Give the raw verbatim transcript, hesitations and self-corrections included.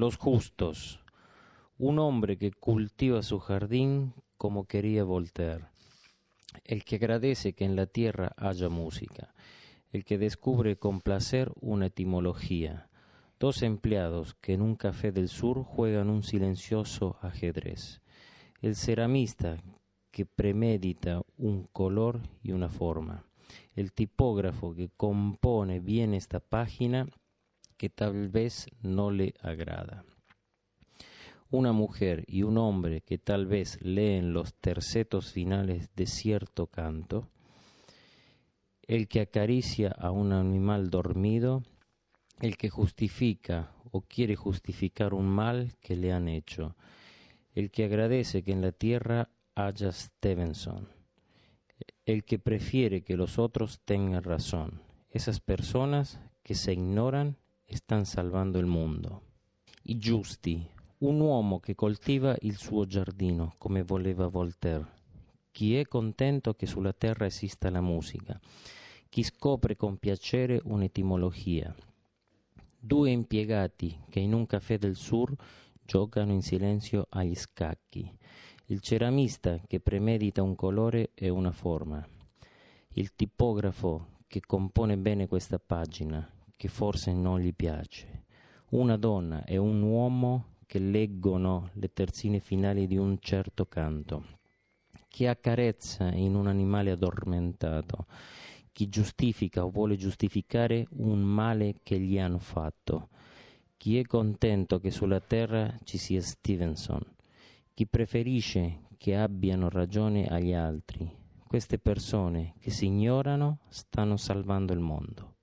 Los justos. Un hombre que cultiva su jardín como quería Voltaire. El que agradece que en la tierra haya música. El que descubre con placer una etimología. Dos empleados que en un café del sur juegan un silencioso ajedrez. El ceramista que premedita un color y una forma. El tipógrafo que compone bien esta página que tal vez no le agrada. Una mujer y un hombre que tal vez leen los tercetos finales de cierto canto. El que acaricia a un animal dormido. El que justifica o quiere justificar un mal que le han hecho. El que agradece que en la tierra haya Stevenson. El que prefiere que los otros tengan razón. Esas personas che se ignoran stanno salvando il mondo. I giusti, un uomo che coltiva il suo giardino come voleva Voltaire. Chi è contento che sulla terra esista la musica. Chi scopre con piacere un'etimologia. Due impiegati che in un caffè del sur giocano in silenzio agli scacchi. Il ceramista che premedita un colore e una forma. Il tipografo che compone bene questa pagina, che forse non gli piace. Una donna e un uomo che leggono le terzine finali di un certo canto. Chi accarezza in un animale addormentato. Chi giustifica o vuole giustificare un male che gli hanno fatto. Chi è contento che sulla terra ci sia Stevenson. Chi preferisce che abbiano ragione agli altri. Queste persone che si ignorano stanno salvando il mondo.